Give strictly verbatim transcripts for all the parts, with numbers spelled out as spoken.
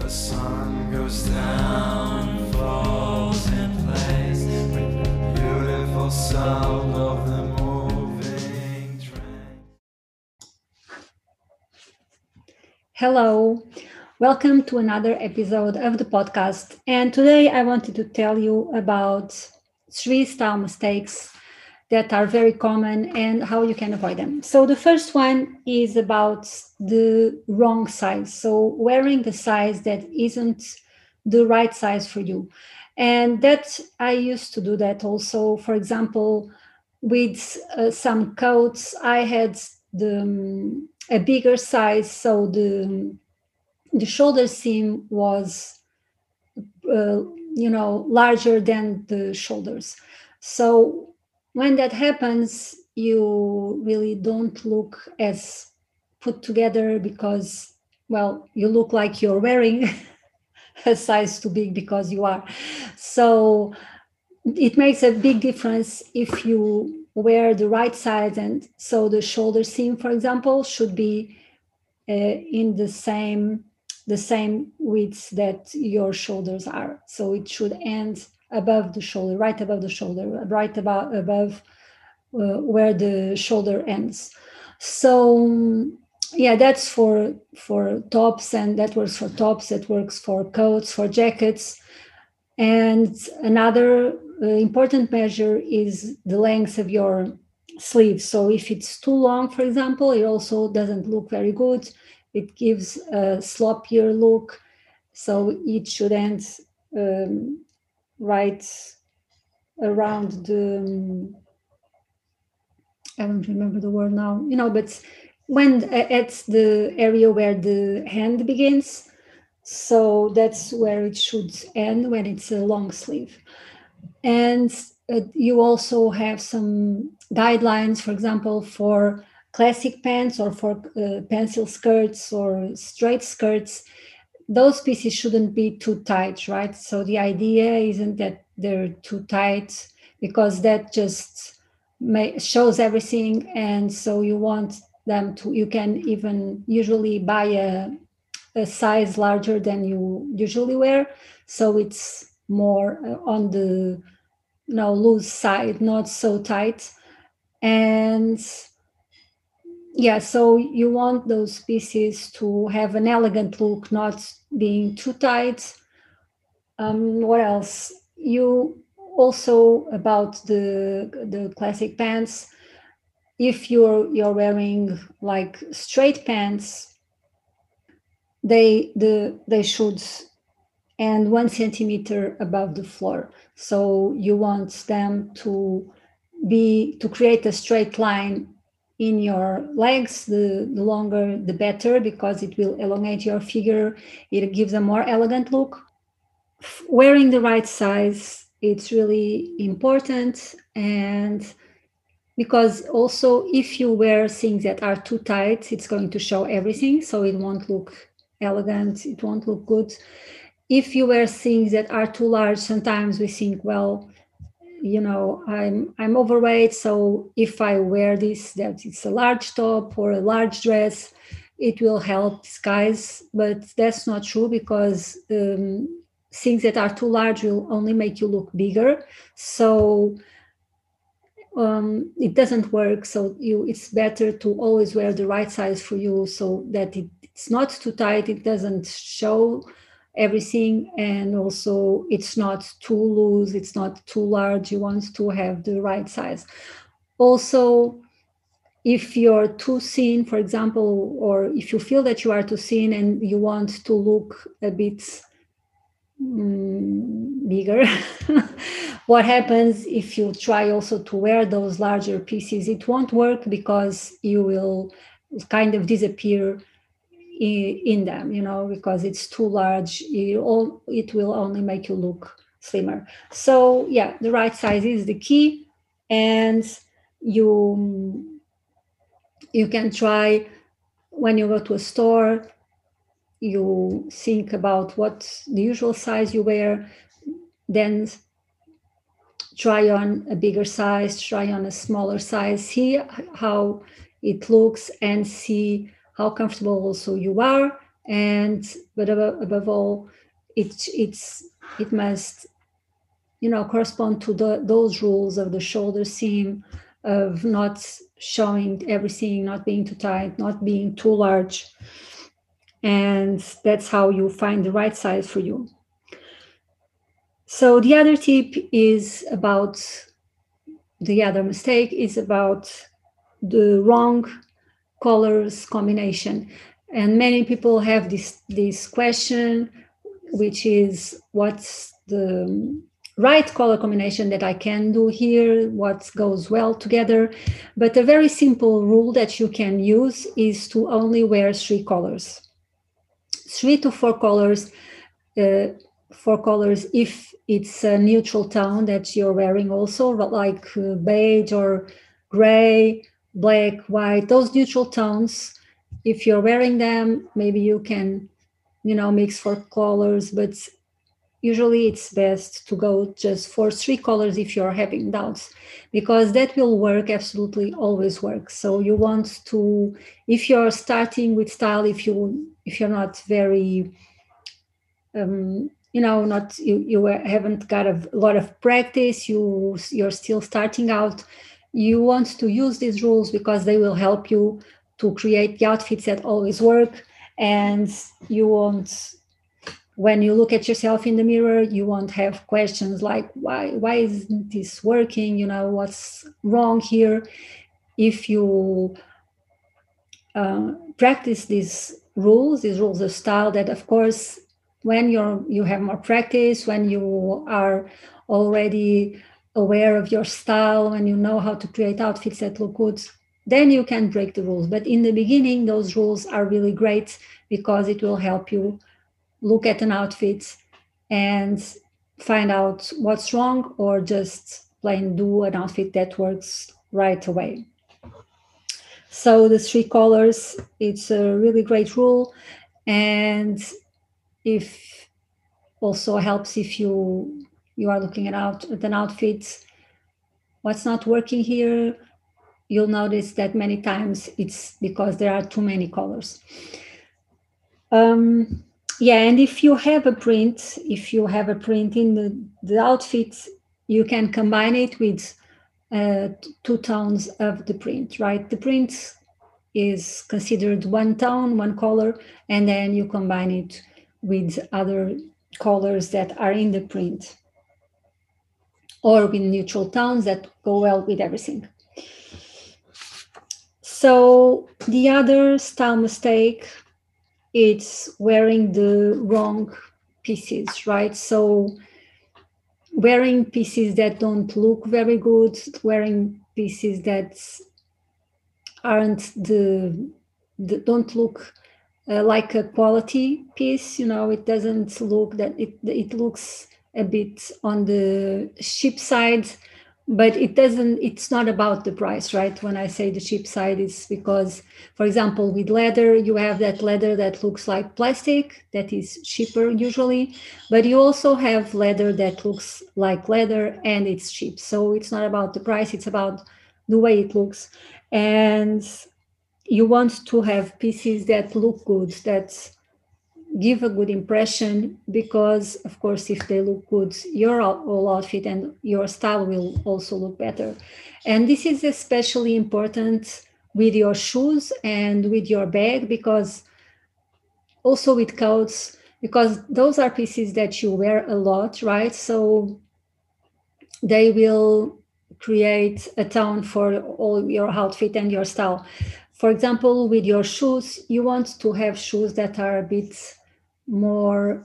the sun goes down, falls in place with the beautiful sound of the moving train. Hello, welcome to another episode of the podcast. And today I wanted to tell you about three style mistakes that are very common and how you can avoid them. So the first one is about the wrong size. So wearing the size that isn't the right size for you. And that I used to do that also. For example, with uh, some coats, I had the um, a bigger size, so the the shoulder seam was uh, you know larger than the shoulders. So when that happens, you really don't look as put together because, well, you look like you're wearing a size too big because you are. So it makes a big difference if you wear the right size. And so the shoulder seam, for example, should be uh, in the same the same width that your shoulders are. So it should end above the shoulder, right above the shoulder, right about above uh, where the shoulder ends. So yeah, that's for for tops, and that works for tops. That works for coats, for jackets. And another uh, important measure is the length of your sleeves. So if it's too long, for example, it also doesn't look very good. It gives a sloppier look. So it should end um, right around the, um, I don't remember the word now, you know, but when at the area where the hand begins. So that's where it should end when it's a long sleeve. And uh, you also have some guidelines, for example, for classic pants or for uh, pencil skirts or straight skirts. Those pieces shouldn't be too tight, right? So the idea isn't that they're too tight, because that just may, shows everything. And so you want them to, you can even usually buy a, a size larger than you usually wear. So it's more uh, on the you know loose side, not so tight. And yeah, so you want those pieces to have an elegant look, not being too tight. Um, what else? You also, about the the classic pants, if you're you're wearing like straight pants, they the they should end one centimeter above the floor. So you want them to be to create a straight line in your legs. The, the longer the better, because it will elongate your figure. It gives a more elegant look. Wearing the right size, it's really important. And because also if you wear things that are too tight, it's going to show everything, so it won't look elegant, it won't look good. If you wear things that are too large, sometimes we think, well, you know, I'm I'm overweight, so if I wear this, that it's a large top or a large dress, it will help disguise. But that's not true, because um, things that are too large will only make you look bigger. So um, it doesn't work. So you, it's better to always wear the right size for you, so that it, it's not too tight, it doesn't show everything, and also it's not too loose, it's not too large. You want to have the right size. Also, if you're too thin, for example, or if you feel that you are too thin and you want to look a bit mm, bigger, what happens if you try also to wear those larger pieces? It won't work, because you will kind of disappear in them, you know, because it's too large. You all, it will only make you look slimmer. So yeah, the right size is the key. And you you can try, when you go to a store, you think about what the usual size you wear, then try on a bigger size, try on a smaller size, see how it looks, and see how comfortable also you are And but above, above all, it it's it must, you know, correspond to the, those rules of the shoulder seam, of not showing everything, not being too tight, not being too large. And that's how you find the right size for you. So the other tip is about, the other mistake is about the wrong colors combination. And many people have this this question, which is, what's the right color combination that I can do here, what goes well together. But a very simple rule that you can use is to only wear three colors, three to four colors, uh, four colors if it's a neutral tone that you're wearing also, like uh, beige or gray, black, white, those neutral tones. If you're wearing them, maybe you can, you know, mix four colors, but usually it's best to go just for three colors if you're having doubts, because that will work, absolutely always work. So you want to, if you're starting with style, if you if you're not very um, you know, not you, you haven't got a lot of practice, you you're still starting out, you want to use these rules because they will help you to create the outfits that always work. And you won't, when you look at yourself in the mirror, you won't have questions like, why why isn't this working, you know, what's wrong here. If you uh, practice these rules, these rules of style, that of course, when you're you have more practice, when you are already aware of your style, when you know how to create outfits that look good, then you can break the rules. But in the beginning, those rules are really great because it will help you look at an outfit and find out what's wrong, or just plain do an outfit that works right away. So the three colors, it's a really great rule. And if also helps if you you are looking at, out, at an outfit, what's not working here, you'll notice that many times it's because there are too many colors. Um, yeah, and if you have a print, if you have a print in the, the outfit, you can combine it with uh, two tones of the print, right? The print is considered one tone, one color, and then you combine it with other colors that are in the print, or with neutral tones that go well with everything. So the other style mistake, it's wearing the wrong pieces, right? So wearing pieces that don't look very good, wearing pieces that aren't the, the don't look uh, like a quality piece, you know, it doesn't look that it it looks a bit on the cheap side, but it doesn't, it's not about the price, right? When I say the cheap side, it's because, for example, with leather, you have that leather that looks like plastic, that is cheaper usually, but you also have leather that looks like leather and it's cheap. So it's not about the price, it's about the way it looks. And you want to have pieces that look good, that give a good impression, because of course, if they look good, your whole outfit and your style will also look better. And this is especially important with your shoes and with your bag, because also with coats, because those are pieces that you wear a lot, right? So they will create a tone for all your outfit and your style. For example, with your shoes, you want to have shoes that are a bit more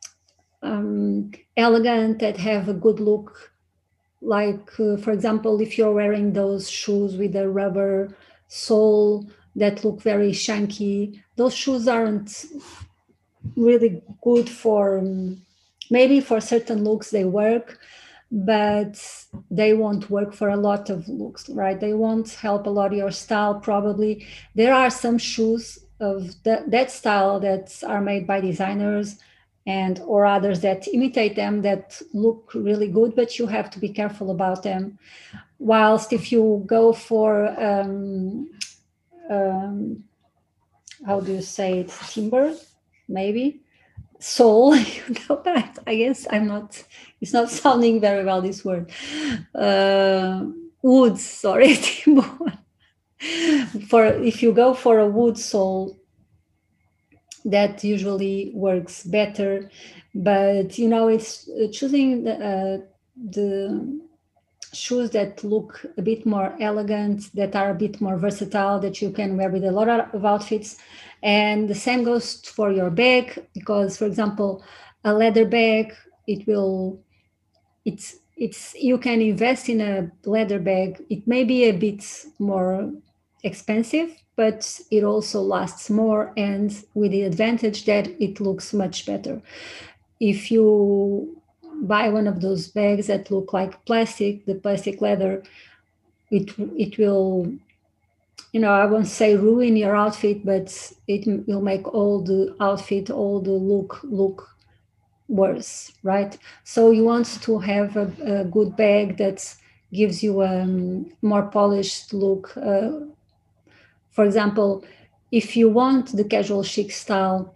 um, elegant, that have a good look. Like, uh, for example, if you're wearing those shoes with a rubber sole that look very chunky, those shoes aren't really good for, um, maybe for certain looks they work, but they won't work for a lot of looks, right? They won't help a lot your style, probably. There are some shoes of that, that style that are made by designers and or others that imitate them, that look really good, but you have to be careful about them. Whilst if you go for um, um, how do you say it, timber, maybe sole. You know, but I, I guess I'm not. It's not sounding very well, this word. Uh, wood. Sorry, for if you go for a wood sole, that usually works better. But you know, it's uh, choosing the, uh, the shoes that look a bit more elegant, that are a bit more versatile, that you can wear with a lot of outfits. And the same goes for your bag, because, for example, a leather bag, it will, it's, it's, you can invest in a leather bag. It may be a bit more expensive, but it also lasts more, and with the advantage that it looks much better. If you buy one of those bags that look like plastic, the plastic leather, it it will, you know, I won't say ruin your outfit, but it will make all the outfit, all the look look worse, right? So you want to have a, a good bag that gives you a um, more polished look. Uh, for example, if you want the casual chic style,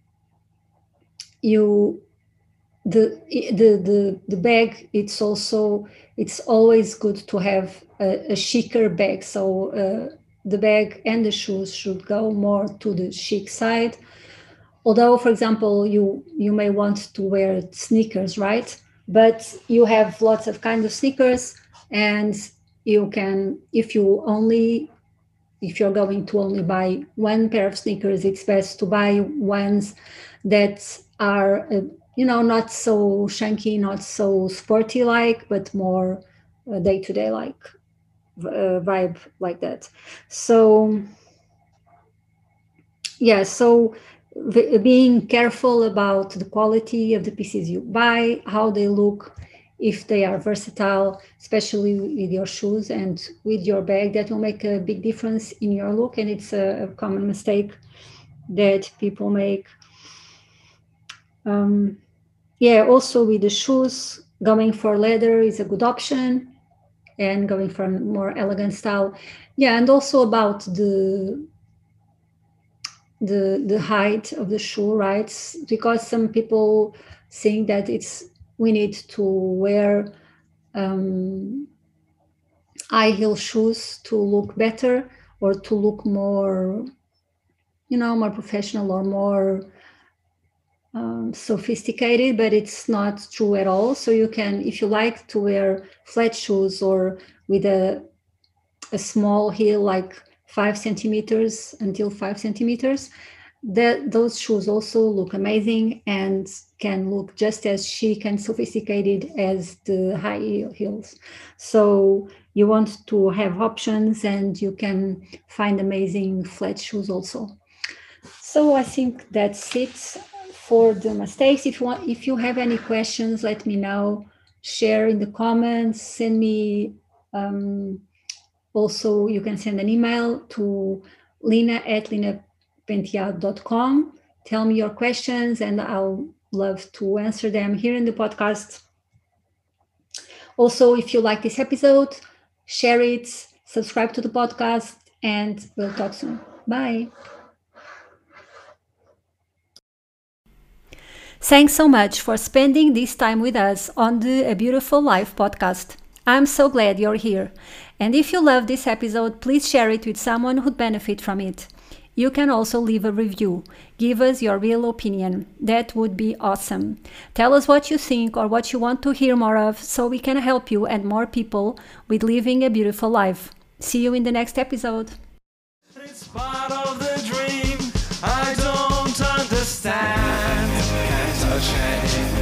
you the the the the bag, it's also, it's always good to have a, a chicer bag. So uh, the bag and the shoes should go more to the chic side. Although, for example, you you may want to wear sneakers, right? But you have lots of kinds of sneakers, and you can, if you only if you're going to only buy one pair of sneakers, it's best to buy ones that are uh, you know, not so chunky, not so sporty like, but more uh, day-to-day like uh, vibe like that. So yeah, so v- being careful about the quality of the pieces you buy, how they look, if they are versatile, especially with your shoes and with your bag, that will make a big difference in your look. And it's a, a common mistake that people make. Um, yeah, also with the shoes, going for leather is a good option, and going for a more elegant style. Yeah, and also about the the the height of the shoe, right? Because some people think that it's, we need to wear um, high heel shoes to look better, or to look more, you know, more professional or more Um, sophisticated, but it's not true at all. So you can, if you like to wear flat shoes or with a a small heel, like five centimeters until five centimeters, that those shoes also look amazing and can look just as chic and sophisticated as the high heel heels. So you want to have options, and you can find amazing flat shoes also. So I think that's it for the mistakes. If you want, if you have any questions, let me know. Share in the comments. Send me. Um, also, you can send an email to Lina at linapenteado dot com. Tell me your questions, and I'll love to answer them here in the podcast. Also, if you like this episode, share it, subscribe to the podcast, and we'll talk soon. Bye. Thanks so much for spending this time with us on the A Beautiful Life podcast. I'm so glad you're here. And if you love this episode, please share it with someone who'd benefit from it. You can also leave a review. Give us your real opinion. That would be awesome. Tell us what you think or what you want to hear more of, so we can help you and more people with living a beautiful life. See you in the next episode. It's part of the dream I don't understand. Can't touch it.